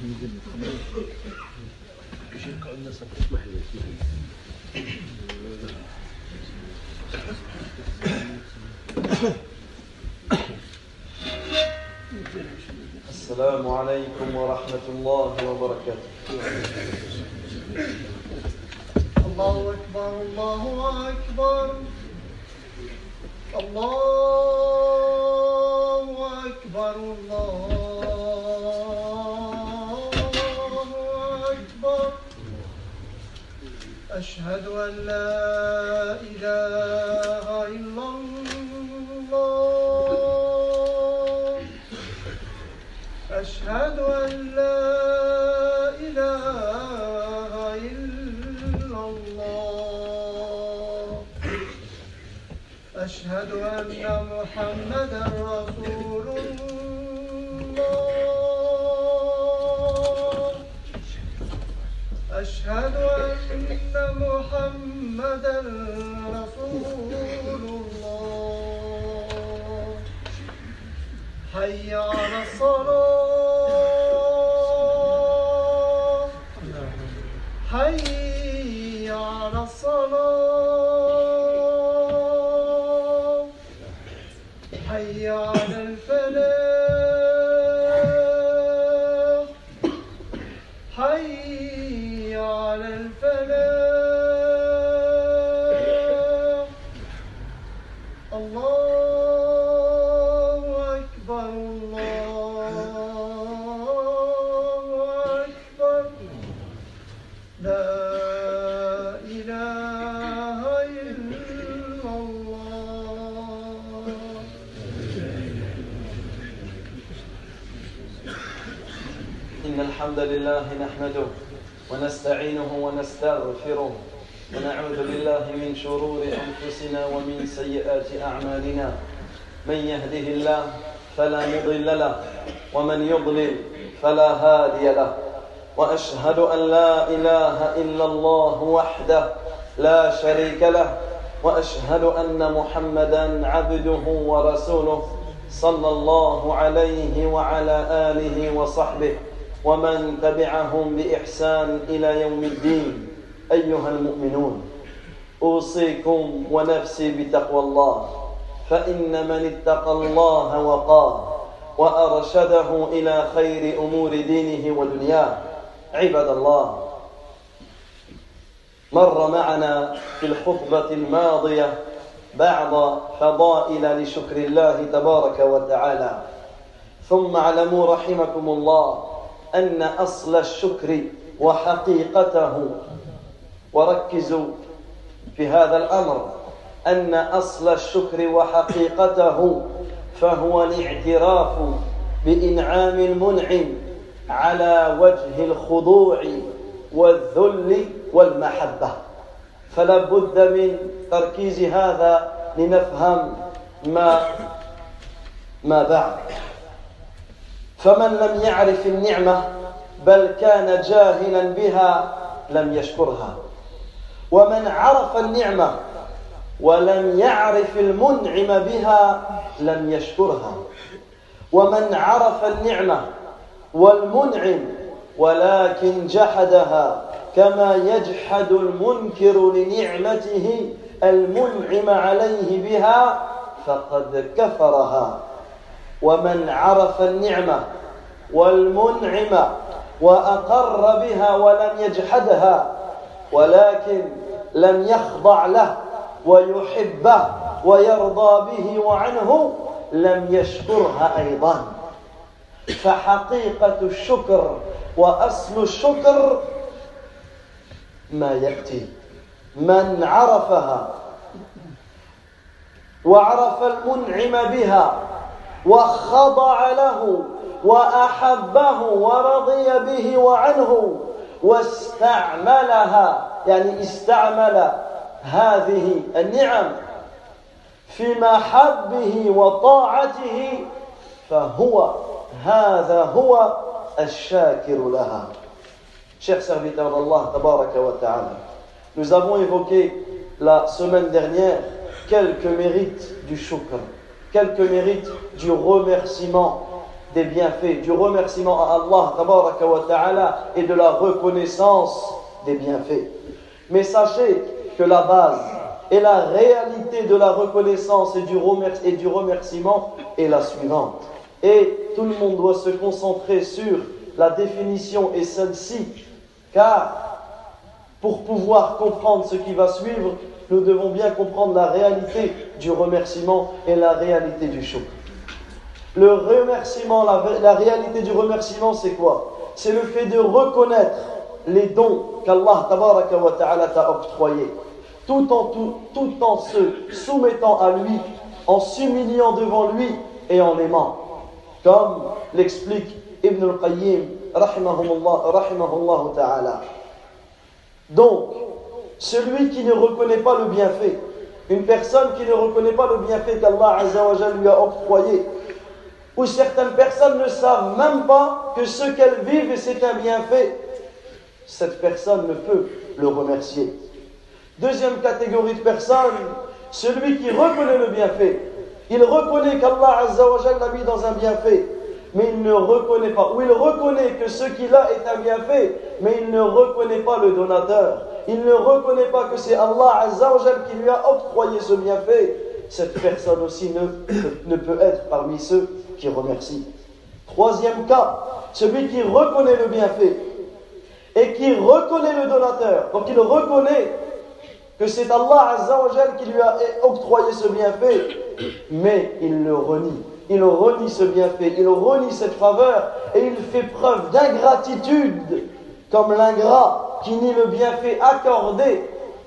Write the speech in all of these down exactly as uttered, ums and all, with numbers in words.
السلام عليكم ورحمة الله وبركاته. الله أكبر الله أكبر الله أكبر الله أكبر. أشهد أن لا إله إلا الله. أشهد أن لا إله إلا الله. أشهد أن محمدا رسول الله. أشهد أن محمدا رسول الله. حي على الصلاة حي على الصلاة حي على الفلاح حي على الفلاح. الله أكبر الله أكبر. لا إله إلا الله. إن الحمد لله نحمده ونستعينه ونستغفره ونعوذ بالله من شرور أنفسنا ومن سيئات أعمالنا. من يهده الله فلا مضل له ومن يضلل فلا هادي له. وأشهد أن لا إله إلا الله وحده لا شريك له. وأشهد أن محمدا عبده ورسوله صلى الله عليه وعلى آله وصحبه ومن تبعهم بإحسان إلى يوم الدين. أيها المؤمنون، أوصيكم ونفسي بتقوى الله، فإن من اتقى الله وقاه وأرشده إلى خير أمور دينه ودنياه. عباد الله، مر معنا في الخطبة الماضية بعض فضائل لشكر الله تبارك وتعالى. ثم اعلموا رحمكم الله أن أصل الشكر وحقيقته، وركزوا في هذا الأمر، أن أصل الشكر وحقيقته فهو الاعتراف بإنعام المنعم على وجه الخضوع والذل والمحبة. فلا بد من تركيز هذا لنفهم ما ما بعد. فمن لم يعرف النعمة بل كان جاهلا بها لم يشكرها، ومن عرف النعمة ولم يعرف المنعم بها لم يشكرها، ومن عرف النعمة والمنعم ولكن جحدها كما يجحد المنكر لنعمته المنعم عليه بها فقد كفرها. ومن عرف النعمة والمنعم وأقر بها ولم يجحدها ولكن لم يخضع له ويحبه ويرضى به وعنه لم يشكرها أيضا. فحقيقة الشكر وأصل الشكر ما يأتي. من عرفها وعرف المنعم بها وخضع له وأحبه ورضي به وعنه واستعملها، يعني استعمل هذه النعم في محبه وطاعته، فهو هذا هو الشاكر لها. Chers serviteurs d'Allah tabaraka wa ta'ala, nous avons évoqué la semaine dernière quelques mérites du shukr, quelques mérites du remerciement des bienfaits, du remerciement à Allah tabaraka wa ta'ala et de la reconnaissance des bienfaits. Mais sachez que la base et la réalité de la reconnaissance et du, remer- et du remerciement est la suivante. Et tout le monde doit se concentrer sur la définition et celle-ci, car pour pouvoir comprendre ce qui va suivre, nous devons bien comprendre la réalité du remerciement et la réalité du shukr. Le remerciement, la, la réalité du remerciement, c'est quoi? C'est le fait de reconnaître les dons qu'Allah tabaraka wa ta'ala t'a octroyés, tout en, tout, tout en se soumettant à lui, en s'humiliant devant lui et en l'aimant. Comme l'explique Ibn al-Qayyim, rahimahullah, rahimahullah ta'ala. Donc, celui qui ne reconnaît pas le bienfait, une personne qui ne reconnaît pas le bienfait qu'Allah Azza wa Jalla lui a octroyé, ou certaines personnes ne savent même pas que ce qu'elles vivent, c'est un bienfait, cette personne ne peut le remercier. Deuxième catégorie de personnes, celui qui reconnaît le bienfait. Il reconnaît qu'Allah Azza wa Jalla l'a mis dans un bienfait, mais il ne reconnaît pas, ou il reconnaît que ce qu'il a est un bienfait, mais il ne reconnaît pas le donateur. Il ne reconnaît pas que c'est Allah Azza wa Jalla qui lui a octroyé ce bienfait. Cette personne aussi ne, ne peut être parmi ceux qui remercient. Troisième cas, celui qui reconnaît le bienfait et qui reconnaît le donateur. Donc il reconnaît que c'est Allah Azza wa Jalla qui lui a octroyé ce bienfait, mais il le renie. Il renie ce bienfait, il renie cette faveur et il fait preuve d'ingratitude comme l'ingrat qui nie le bienfait accordé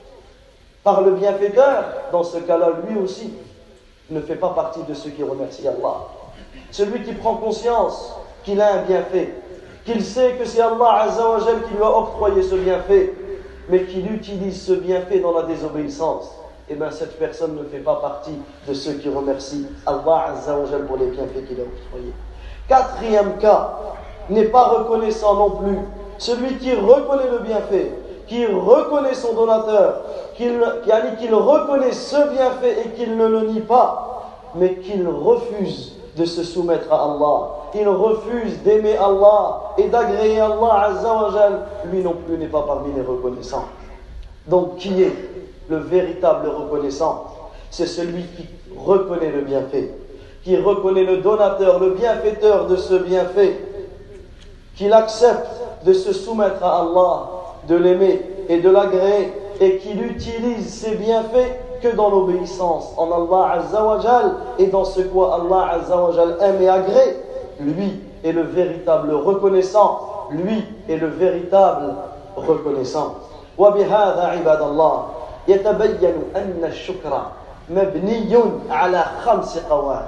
par le bienfaiteur. Dans ce cas-là, lui aussi ne fait pas partie de ceux qui remercient Allah. Celui qui prend conscience qu'il a un bienfait, qu'il sait que c'est Allah Azza wa Jalla qui lui a octroyé ce bienfait, mais qu'il utilise ce bienfait dans la désobéissance, eh bien cette personne ne fait pas partie de ceux qui remercient Allah Azza wa Jalla pour les bienfaits qu'il a octroyés. Quatrième cas, n'est pas reconnaissant non plus. Celui qui reconnaît le bienfait, qui reconnaît son donateur, qu'il, qu'il reconnaît ce bienfait et qu'il ne le nie pas, mais qu'il refuse de se soumettre à Allah. Il refuse d'aimer Allah et d'agréer Allah Azza wa Jal. Lui non plus n'est pas parmi les reconnaissants. Donc qui est le véritable reconnaissant? C'est celui qui reconnaît le bienfait, qui reconnaît le donateur, le bienfaiteur de ce bienfait, qu'il accepte de se soumettre à Allah, de l'aimer et de l'agréer, et qu'il utilise ses bienfaits que dans l'obéissance en Allah Azza wa Jal et dans ce quoi Allah Azza wa Jal aime et agrée. Lui est le véritable reconnaissant, lui est le véritable reconnaissant. وبهذا عباد الله يتبين أن الشكر مبني على خمس قواعد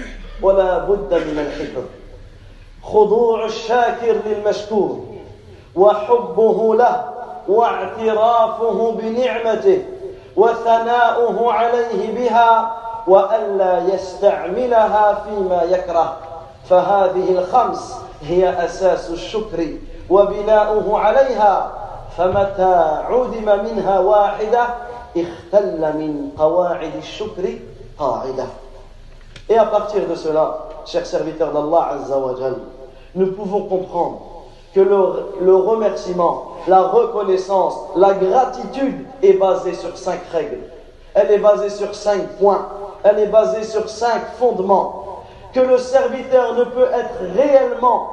ولا بد من الحفظ. خضوع الشاكر للمشكور وحبه له واعترافه بنعمته وثناؤه عليه بها وألا يستعملها فيما يكره. فهذه الخمس هي أساس الشكر وبناؤه عليها. فمتى عدم منها واحدة اختل من قواعد الشكر قاعدة. Et à partir de cela, chers serviteurs d'Allah Azza wa Jal, nous pouvons comprendre que le, le remerciement, la reconnaissance, la gratitude est basée sur cinq règles. Elle est basée sur cinq points. Elle est basée sur cinq fondements. Que le serviteur ne peut être réellement,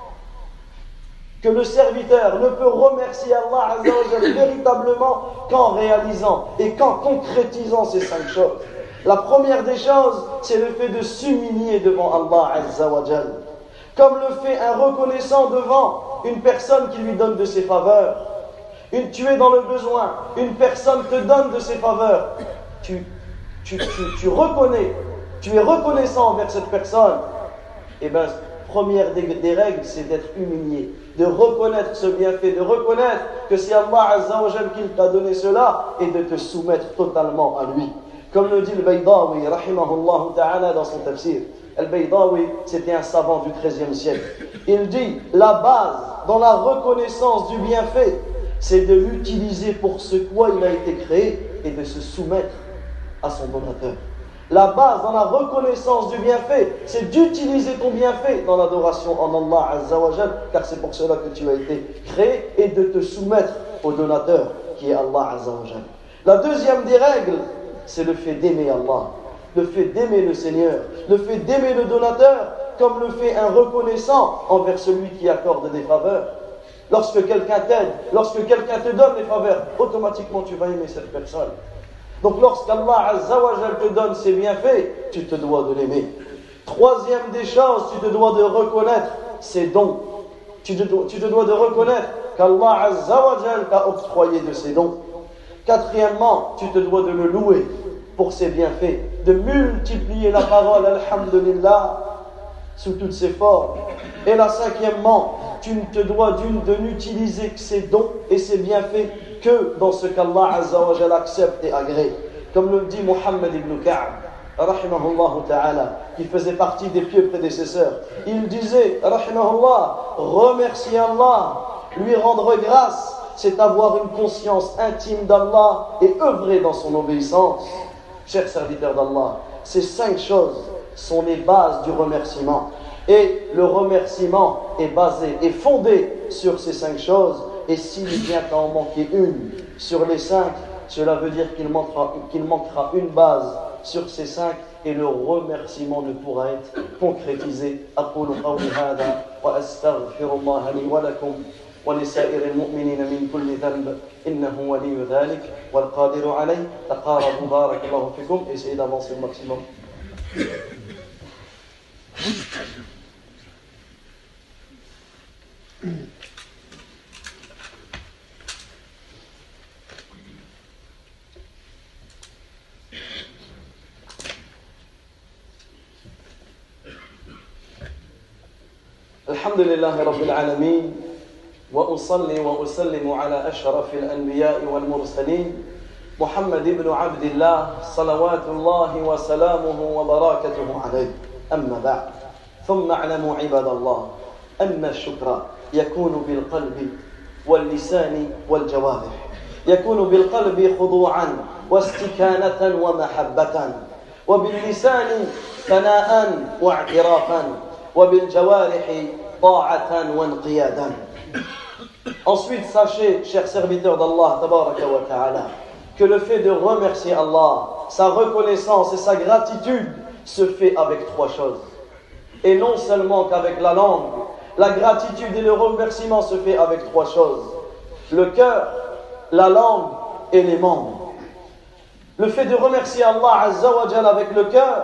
que le serviteur ne peut remercier Allah Azza wa Jal véritablement qu'en réalisant et qu'en concrétisant ces cinq choses. La première des choses, c'est le fait de s'humilier devant Allah Azza wa Jal, comme le fait un reconnaissant devant une personne qui lui donne de ses faveurs. Une, tu es dans le besoin, une personne te donne de ses faveurs. Tu, tu, tu, tu reconnais, tu es reconnaissant envers cette personne. Et bien, première des, des règles, c'est d'être humilié, de reconnaître ce bienfait, de reconnaître que c'est Allah Azza wa Jal qui t'a donné cela et de te soumettre totalement à lui. Comme le dit le Baydawi, rahimahullah ta'ala, dans son tafsir. Al-Baydawi, c'était un savant du treizième siècle. Il dit, la base dans la reconnaissance du bienfait, c'est de l'utiliser pour ce quoi il a été créé et de se soumettre à son donateur. La base dans la reconnaissance du bienfait, c'est d'utiliser ton bienfait dans l'adoration en Allah Azza wa Jal, car c'est pour cela que tu as été créé, et de te soumettre au donateur qui est Allah Azza wa Jal. La deuxième des règles, c'est le fait d'aimer Allah, le fait d'aimer le Seigneur, le fait d'aimer le donateur, comme le fait un reconnaissant envers celui qui accorde des faveurs. Lorsque quelqu'un t'aide, lorsque quelqu'un te donne des faveurs, automatiquement tu vas aimer cette personne. Donc lorsqu'Allah Azza wa Jal te donne ses bienfaits, tu te dois de l'aimer. Troisième des choses, tu te dois de reconnaître ses dons. Tu te dois, tu te dois de reconnaître qu'Allah Azza wa Jal t'a octroyé de ses dons. Quatrièmement, tu te dois de le louer pour ses bienfaits, de multiplier la parole Alhamdulillah sous toutes ses formes. Et la cinquièmement, tu ne te dois de n'utiliser que ses dons et ses bienfaits que dans ce qu'Allah Azza wa Jal accepte et agrée. Comme le dit Muhammad ibn Ka'b, rahimahullah ta'ala, qui faisait partie des pieux prédécesseurs. Il disait, rahimahullah, remercier Allah, lui rendre grâce, c'est avoir une conscience intime d'Allah et œuvrer dans son obéissance. Chers serviteurs d'Allah, ces cinq choses sont les bases du remerciement. Et le remerciement est basé, est fondé sur ces cinq choses. Et s'il vient à en manquer une sur les cinq, cela veut dire qu'il manquera, qu'il manquera une base sur ces cinq et le remerciement ne pourra être concrétisé. أقول قولي هذا وأستغفر الله لي ولكم ولسائر المؤمنين من كل ذنب إنه ولي ذلك والقادر عليه. تقاربوا بارك الله فيكم. Essayez d'avancer le maximum. الحمد لله رب العالمين وأصلي وأسلم على أشرف الأنبياء والمرسلين محمد بن عبد الله صلوات الله وسلامه وبركاته عليه. أما بعد ثم اعلموا عباد الله أن الشكر يكون بالقلب واللسان والجوارح. يكون بالقلب خضوعا واستكانة ومحبة، وباللسان ثناء واعترافا، وبالجوارح طاعة وانقيادا. Ensuite, sachez, chers serviteurs d'Allah, tabaraka wa ta'ala, que le fait de remercier Allah, sa reconnaissance et sa gratitude se fait avec trois choses. Et non seulement qu'avec la langue, la gratitude et le remerciement se fait avec trois choses. Le cœur, la langue et les membres. Le fait de remercier Allah Azza wa Jal avec le cœur,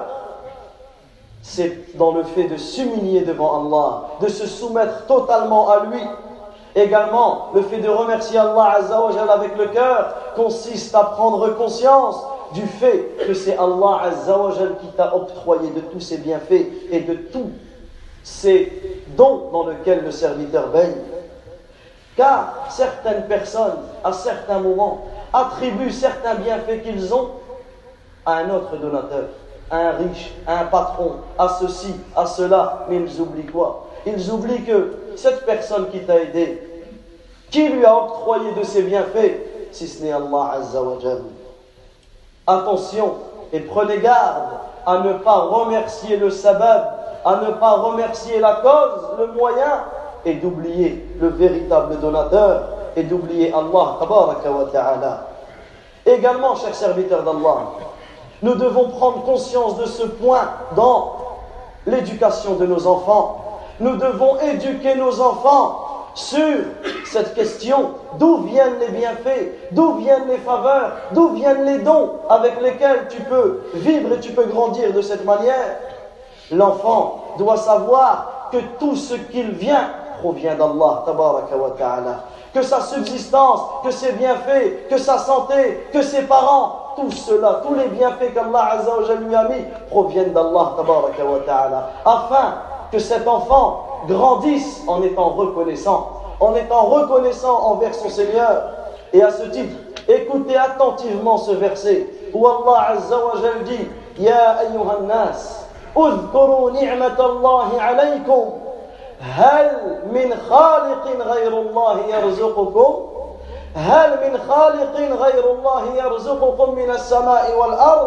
c'est dans le fait de s'humilier devant Allah, de se soumettre totalement à lui. Également, le fait de remercier Allah Azza wa Jal avec le cœur consiste à prendre conscience du fait que c'est Allah Azza wa Jal qui t'a octroyé de tous ses bienfaits et de tous ces dons dans lesquels le serviteur baigne. Car certaines personnes, à certains moments, attribuent certains bienfaits qu'ils ont à un autre donateur, à un riche, à un patron, à ceci, à cela, mais ils oublient quoi? Ils oublient que cette personne qui t'a aidé, qui lui a octroyé de ses bienfaits, si ce n'est Allah Azza wa Jal. Attention et prenez garde à ne pas remercier le sabab, à ne pas remercier la cause, le moyen, et d'oublier le véritable donateur, et d'oublier Allah tabaraka wa ta'ala. Également, chers serviteurs d'Allah, nous devons prendre conscience de ce point dans l'éducation de nos enfants. Nous devons éduquer nos enfants sur cette question: d'où viennent les bienfaits, d'où viennent les faveurs, d'où viennent les dons avec lesquels tu peux vivre et tu peux grandir de cette manière. L'enfant doit savoir que tout ce qu'il vient provient d'Allah tabaraka wa ta'ala, que sa subsistance, que ses bienfaits, que sa santé, que ses parents, tout cela, tous les bienfaits qu'Allah Azza wa Jalla lui a mis proviennent d'Allah tabaraka wa ta'ala, afin que cet enfant grandisse en étant reconnaissant, en étant reconnaissant envers son Seigneur. Et à ce titre, écoutez attentivement ce verset où Allah Azza wa Jalla dit: Ya ayyuhan nas, uzkuru ni'matallahi alaykum, hal min khaliqin ghayrullahi yarzuqukum, hal min khaliqin ghayrullahi yarzuqukum min as-sama'i wal ard,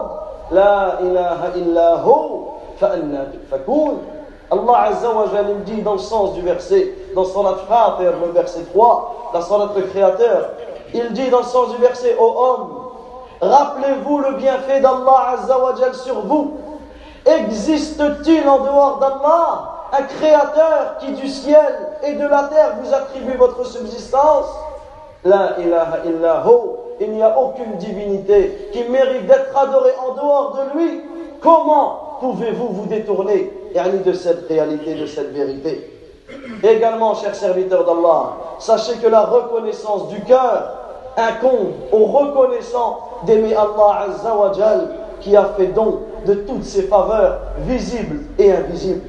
لا إله إلا هو فأنا تؤفكون. Allah Azza wa Jal il dit dans le sens du verset, dans Surat Fatir, le verset trois, la Surat le Créateur, il dit dans le sens du verset, ô homme, rappelez-vous le bienfait d'Allah Azza wa Jal sur vous. Existe-t-il en dehors d'Allah un créateur qui du ciel et de la terre vous attribue votre subsistance? La ilaha illa hu, il n'y a aucune divinité qui mérite d'être adorée en dehors de lui. Comment pouvez-vous vous détourner de cette réalité, de cette vérité? Également, chers serviteurs d'Allah, sachez que la reconnaissance du cœur incombe au reconnaissant d'aimer Allah Azza wa Jal, qui a fait don de toutes ses faveurs visibles et invisibles.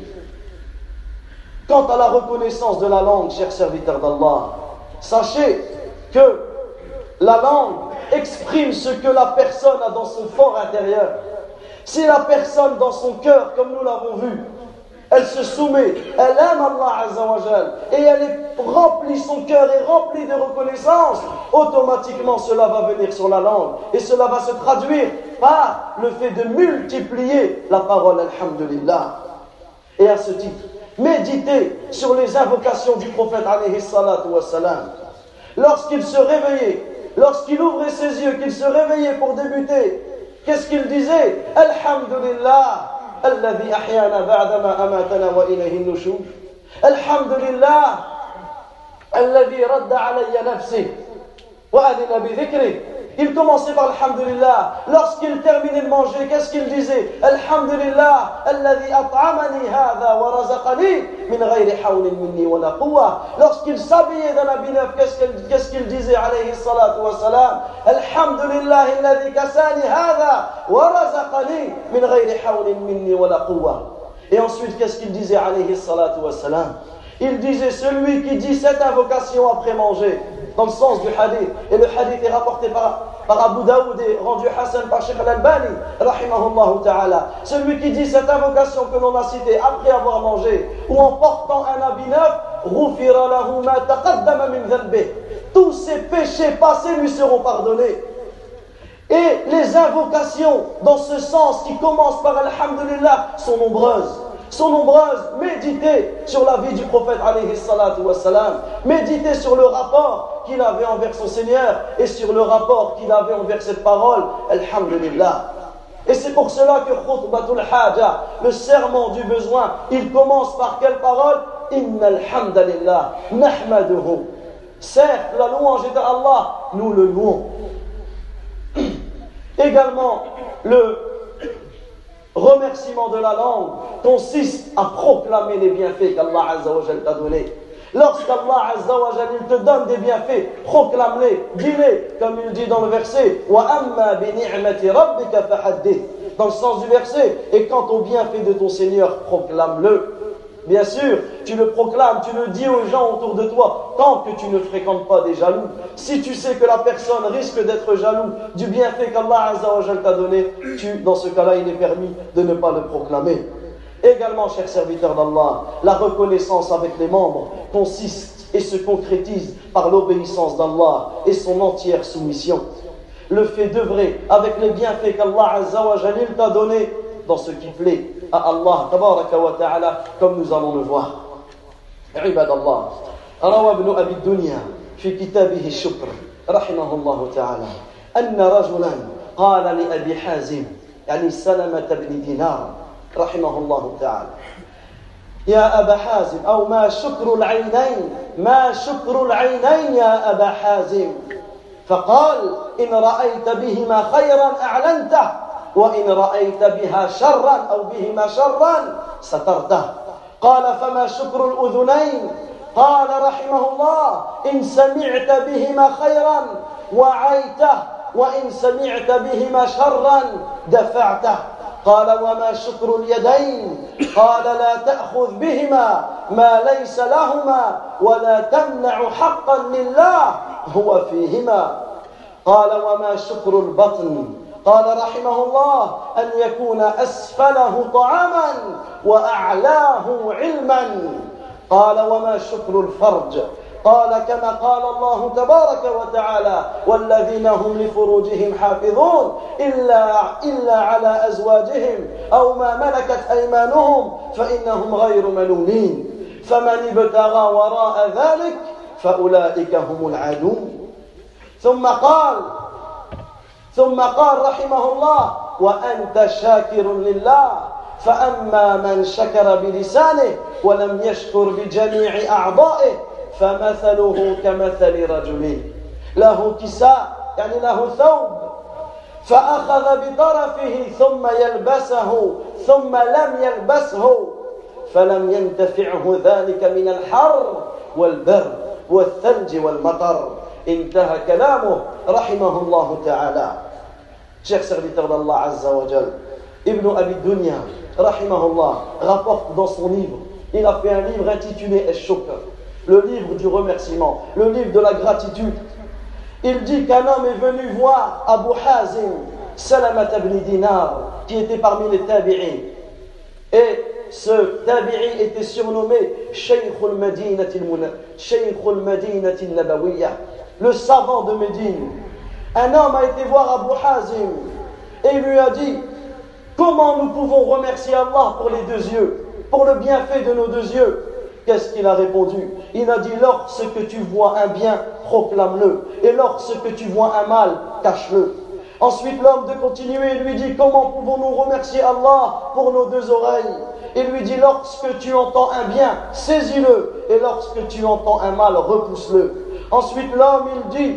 Quant à la reconnaissance de la langue, chers serviteurs d'Allah, sachez que la langue exprime ce que la personne a dans son fort intérieur. Si la personne dans son cœur, comme nous l'avons vu, elle se soumet, elle aime Allah Azza wa Jal, et elle est remplie, son cœur est rempli de reconnaissance, automatiquement cela va venir sur la langue, et cela va se traduire par le fait de multiplier la parole Alhamdulillah. Et à ce titre, méditez sur les invocations du prophète alayhi salatu wa salam. Lorsqu'il se réveillait, lorsqu'il ouvrait ses yeux, qu'il se réveillait pour débuter, qu'est-ce qu'il disait? Alhamdulillah, alladhi ahyana ba'dama amatana wa ilayhi an-nushur. Alhamdulillah, alladhi radda alayya nafsi wa adina bi dhikri. Il commençait par Alhamdulillah. Lorsqu'il terminait de manger, qu'est-ce qu'il disait? Alhamdulillah, alladhi at'amani hadha wa razaqani min ghayri hawlin minni wa la quwwa. Lorsqu'il s'habillait d'un habit neuf, qu'est-ce qu'il, qu'est-ce qu'il disait alayhi salatu wa salam? Alhamdulillah, alladhi kasani hadha wa razaqani min ghayri hawlin minni wa la quwwa. Et ensuite, qu'est-ce qu'il disait alayhi salatu wa salam? Il disait, celui qui dit cette invocation après manger, dans le sens du hadith, et le hadith est rapporté par, par Abu Daoud et rendu Hassan par Sheikh Al-Albani, rahimahullah ta'ala. Celui qui dit cette invocation que l'on a citée après avoir mangé, ou en portant un habit neuf, غُفِرَ لَهُ مَا تَقَدَّمَ مِنْ ذَنْبِهِ. Tous ses péchés passés lui seront pardonnés. Et les invocations dans ce sens qui commencent par Alhamdulillah sont nombreuses. sont nombreuses. Méditez sur la vie du prophète alayhi salatu wa salam. Méditez sur le rapport qu'il avait envers son Seigneur et sur le rapport qu'il avait envers cette parole. Alhamdulillah. Et c'est pour cela que khutbatul haja, le serment du besoin, il commence par quelle parole? Inna alhamdulillah, nahmaduhu. Certes, la louange est à Allah, nous le louons. Également, le remerciement de la langue consiste à proclamer les bienfaits qu'Allah Azza wa Jal t'a donnés. Lorsqu'Allah Azza wa Jal il te donne des bienfaits, proclame-les, dis-les, comme il dit dans le verset wa amma bi ni'mati rabbika fahaddith, dans le sens du verset, et quant au bienfait de ton Seigneur, proclame-le. Bien sûr, tu le proclames, tu le dis aux gens autour de toi, tant que tu ne fréquentes pas des jaloux. Si tu sais que la personne risque d'être jaloux du bienfait qu'Allah Azza wa Jal t'a donné, tu, dans ce cas-là, il est permis de ne pas le proclamer. Également, chers serviteurs d'Allah, la reconnaissance avec les membres consiste et se concrétise par l'obéissance d'Allah et son entière soumission. Le fait d'œuvrer avec les bienfaits qu'Allah Azza wa Jal t'a donnés dans ce qui plaît à Allah tabaraka wa ta'ala, comme nous allons le voir. عباد الله روى ابن أبي الدنيا في كتابه الشكر رحمه الله تعالى أن رجلا قال لأبي حازم يعني سلمة بن دينار رحمه الله تعالى يا أبا حازم أو ما شكر العينين ما شكر العينين يا أبا حازم فقال إن رأيت بهما خيرا أعلنته وإن رأيت بها شرا أو بهما شرا سترته قال فما شكر الأذنين قال رحمه الله إن سمعت بهما خيرا وعيته وإن سمعت بهما شرا دفعته قال وما شكر اليدين قال لا تأخذ بهما ما ليس لهما ولا تمنع حقا لله هو فيهما قال وما شكر البطن قال رحمه الله أن يكون أسفله طعاما وأعلاه علما قال وما شكر الفرج قال كما قال الله تبارك وتعالى والذين هم لفروجهم حافظون إلا, إلا على أزواجهم أو ما ملكت أيمانهم فإنهم غير ملومين فمن ابتغى وراء ذلك فأولئك هم العادون ثم قال ثم قال رحمه الله وأنت شاكر لله فأما من شكر بلسانه ولم يشكر بجميع أعضائه فمثله كمثل رجل له كساء يعني له ثوب فأخذ بطرفه ثم يلبسه ثم لم يلبسه فلم ينتفعه ذلك من الحر والبرد والثلج والمطر انتهى كلامه رحمه الله تعالى. Chers serviteurs d'Allah Azza wa Jal, Ibn Abi Dunya rahimahullah rapporte dans son livre, il a fait un livre intitulé Ash-Shukr, le livre du remerciement, le livre de la gratitude. Il dit qu'un homme est venu voir Abu Hazim Salamat ibn Dinar qui était parmi les tabi'in, et ce tabi'i était surnommé Shaykhul Madinati al-Nabawiyya, le savant de Médine. Un homme a été voir Abu Hazim et il lui a dit comment nous pouvons remercier Allah pour les deux yeux, pour le bienfait de nos deux yeux. Qu'est-ce qu'il a répondu? Il a dit lorsque tu vois un bien, proclame-le, et lorsque tu vois un mal, cache-le. Ensuite l'homme de continuer lui dit comment pouvons-nous remercier Allah pour nos deux oreilles? Il lui dit lorsque tu entends un bien, saisis-le, et lorsque tu entends un mal, repousse-le. Ensuite l'homme il dit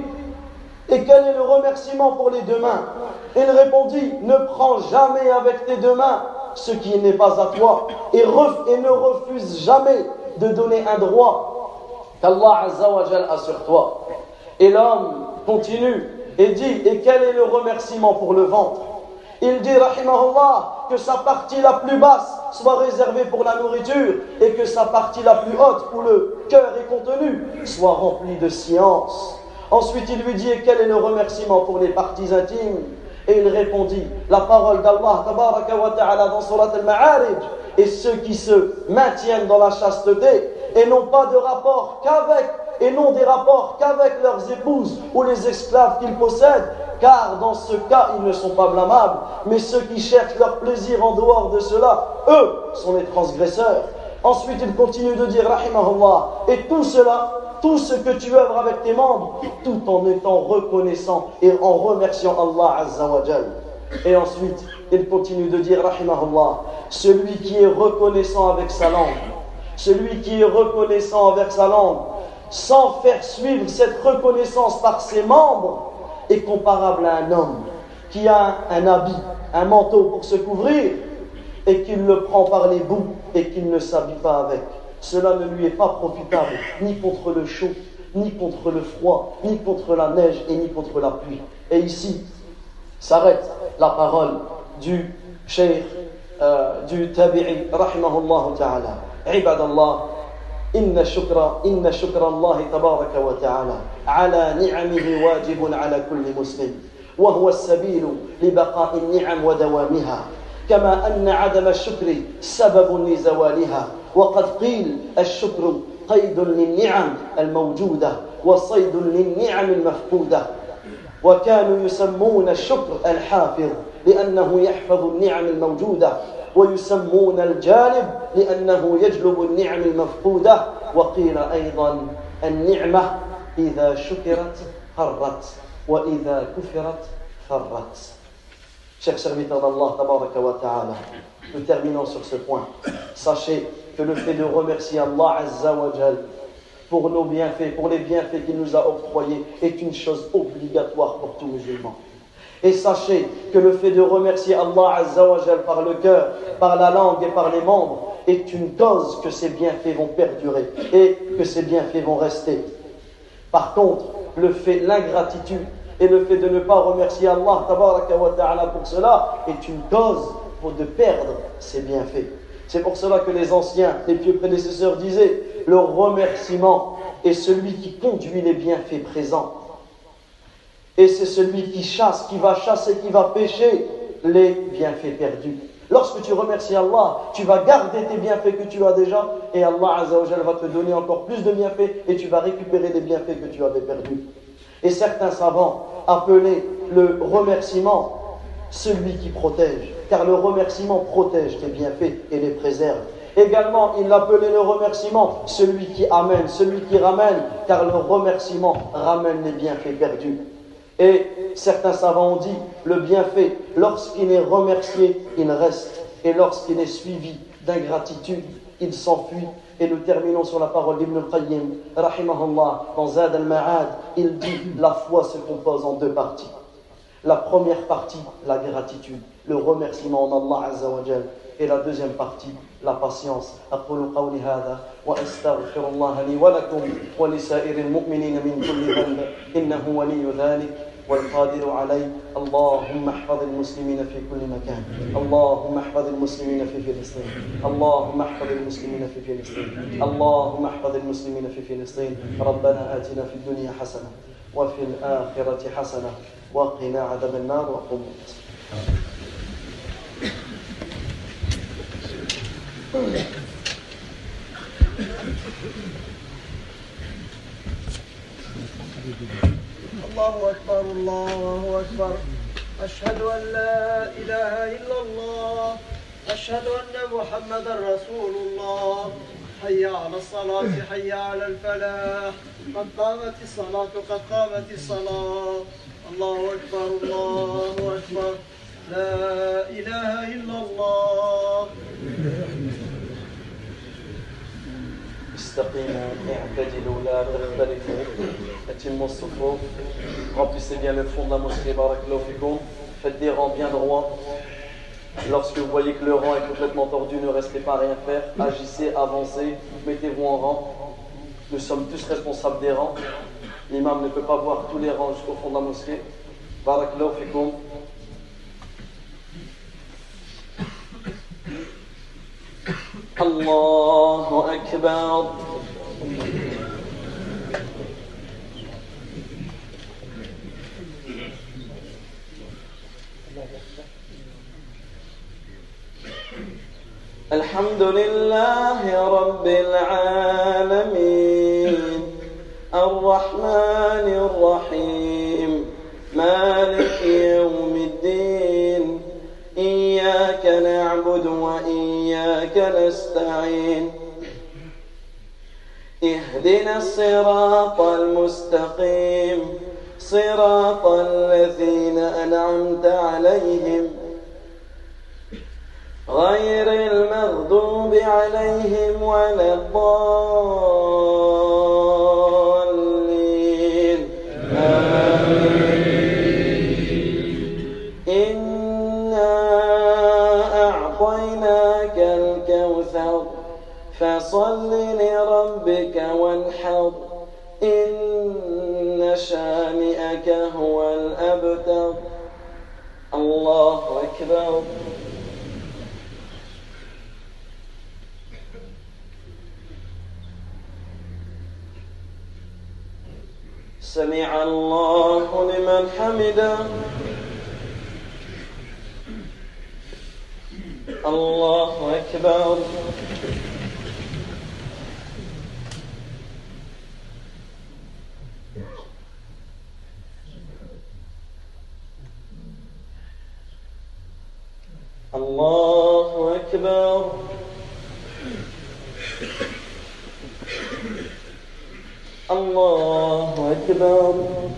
et quel est le remerciement pour les deux mains? Il répondit ne prends jamais avec tes deux mains ce qui n'est pas à toi et, ref, et ne refuse jamais de donner un droit qu'Allah Azza wa Jal a sur toi. Et l'homme continue et dit et quel est le remerciement pour le ventre? Il dit rahimahullah que sa partie la plus basse soit réservée pour la nourriture et que sa partie la plus haute où le cœur est contenu soit remplie de science. Ensuite il lui dit et quel est le remerciement pour les parties intimes? Et il répondit la parole d'Allah tabaraka wa ta'ala dans surat al-Ma'arij et ceux qui se maintiennent dans la chasteté et n'ont pas de rapport qu'avec et non des rapports qu'avec leurs épouses ou les esclaves qu'ils possèdent, car dans ce cas ils ne sont pas blâmables, mais ceux qui cherchent leur plaisir en dehors de cela, eux sont les transgresseurs. Ensuite il continue de dire rahimahullah et tout cela, tout ce que tu œuvres avec tes membres, tout en étant reconnaissant et en remerciant Allah Azza wa Jal. Et ensuite il continue de dire rahimahullah celui qui est reconnaissant avec sa langue, celui qui est reconnaissant avec sa langue sans faire suivre cette reconnaissance par ses membres est comparable à un homme qui a un habit, un manteau pour se couvrir et qu'il le prend par les bouts et qu'il ne s'habille pas avec. Cela ne lui est pas profitable ni contre le chaud, ni contre le froid, ni contre la neige et ni contre la pluie. Et ici s'arrête la parole du cheikh, euh, du tabi'i rahimahullah ta'ala. Ibadallah, إن شكر إن شكر الله تبارك وتعالى على نعمه واجب على كل مسلم وهو السبيل لبقاء النعم ودوامها كما أن عدم الشكر سبب لزوالها وقد قيل الشكر قيد للنعم الموجودة وصيد للنعم المفقودة وكانوا يسمون الشكر الحافظ لأنه يحفظ النعم الموجودة ويسمون الجالب لأنه يجلب النعم المفقودة وقيل أيضا النعمة إذا شكرت قرت وإذا كفرت فرت. Chers serviteurs d'Allah tabaraka wa ta'ala, nous terminons sur ce point. Sachez que le fait de remercier Allah Azza wa Jal pour nos bienfaits, pour les bienfaits qu'il nous a octroyés, est une chose obligatoire pour tout musulman. Et sachez que le fait de remercier Allah Azza wa Jal par le cœur, par la langue et par les membres est une cause que ces bienfaits vont perdurer et que ces bienfaits vont rester. Par contre, le fait, l'ingratitude et le fait de ne pas remercier Allah tabaraka wa ta'ala pour cela est une cause pour de perdre ces bienfaits. C'est pour cela que les anciens, les pieux prédécesseurs disaient le remerciement est celui qui conduit les bienfaits présents. Et c'est celui qui chasse, qui va chasser, qui va pêcher les bienfaits perdus. Lorsque tu remercies Allah, tu vas garder tes bienfaits que tu as déjà et Allah Azza wa Jal va te donner encore plus de bienfaits et tu vas récupérer les bienfaits que tu avais perdus. Et certains savants appelaient le remerciement celui qui protège, car le remerciement protège tes bienfaits et les préserve. Également, il l'appelait le remerciement celui qui amène, celui qui ramène, car le remerciement ramène les bienfaits perdus. Et certains savants ont dit, le bienfait, lorsqu'il est remercié, il reste. Et lorsqu'il est suivi d'ingratitude, il s'enfuit. Et nous terminons sur la parole d'Ibn al-Qayyim, rahimahullah, dans Zad al-Ma'ad, il dit, la foi se compose en deux parties. La première partie, la gratitude, le remerciement en Allah Azza wa Jal. Et la deuxième partie, la patience. أقول قولي هذا وأستغفر الله لي ولكم ولسائر المؤمنين من كل ذنب إنه ولي ذلك والقادر عليه. اللهم احفظ المسلمين في كل مكان. اللهم احفظ المسلمين في فلسطين. اللهم احفظ المسلمين في فلسطين. اللهم احفظ المسلمين في فلسطين. ربنا آتنا في الدنيا حسنة وفي الآخرة حسنة وقنا عذاب النار وقم الله أكبر الله أكبر أشهد أن لا إله إلا الله أشهد أن محمدا رسول الله حي على الصلاة حي على الفلاح قد قامت الصلاة قد قامت الصلاة الله أكبر الله أكبر لا إله إلا الله استقيموا اعتدلوا لا تختلفوا اتموا الصفوف remplissez bien le fond de la mosquée barakallahu fikoum, faites des rangs bien droits. Lorsque vous voyez que le rang est complètement tordu, ne restez pas à rien faire, agissez, avancez, mettez-vous en rang. Nous sommes tous responsables des rangs. L'imam ne peut pas voir tous les rangs jusqu'au fond de la mosquée. Barakallahu fikoum. الله أكبر الحمد لله رب العالمين الرحمن الرحيم مالك يوم الدين إياك نعبد وإياك نستعين اهدنا الصراط المستقيم صراط الذين أنعمت عليهم غير المغضوب عليهم ولا الضالين آمين أعطيناك الكوثر فصل لربك وانحر إن شانئك هو الأبتر الله أكبر سمع الله لمن حمده الله أكبر الله أكبر الله أكبر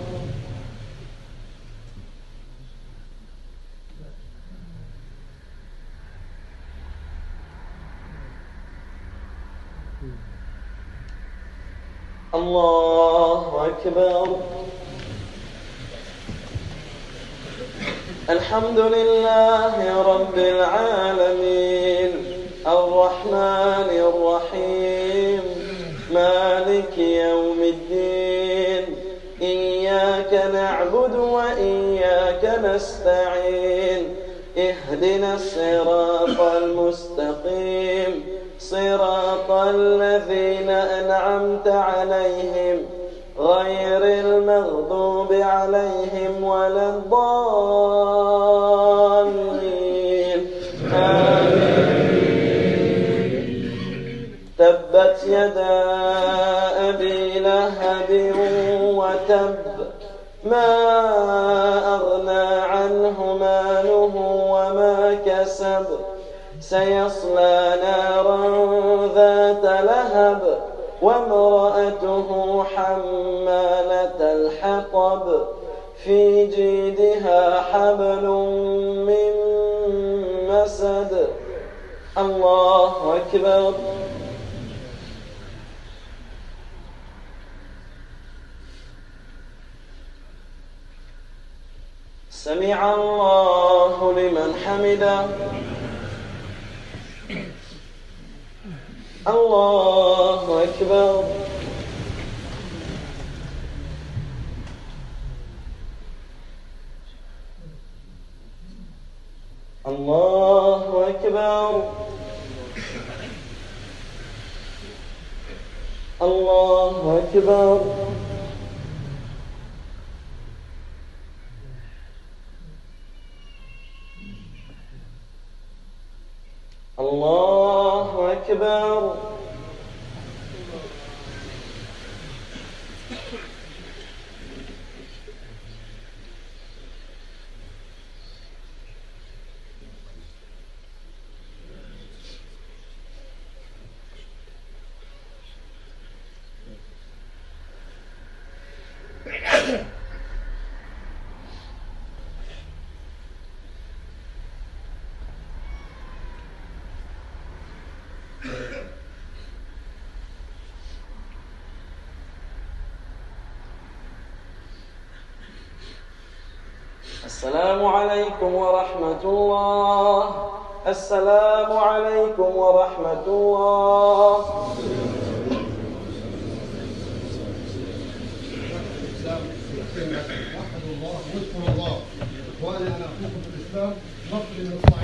الله أكبر الحمد لله رب العالمين الرحمن الرحيم مالك يوم الدين إياك نعبد وإياك نستعين اهدنا الصراط المستقيم صراط الذين أنعمت عليهم غير المغضوب عليهم ولا الضالين لهب وتب ما أغنى عنه ماله وما كسب سيصلى نارا ذات لهب وامرأته حمالة الحطب في جيدها حبل من مسد. الله أكبر. سمع الله لمن حمده. الله أكبر. الله أكبر. الله أكبر. الله أكبر. السلام عليكم ورحمة الله. السلام عليكم ورحمة الله. وحدوا الله واذكروا الله. وانا انا اخوكم في الاسلام نقل من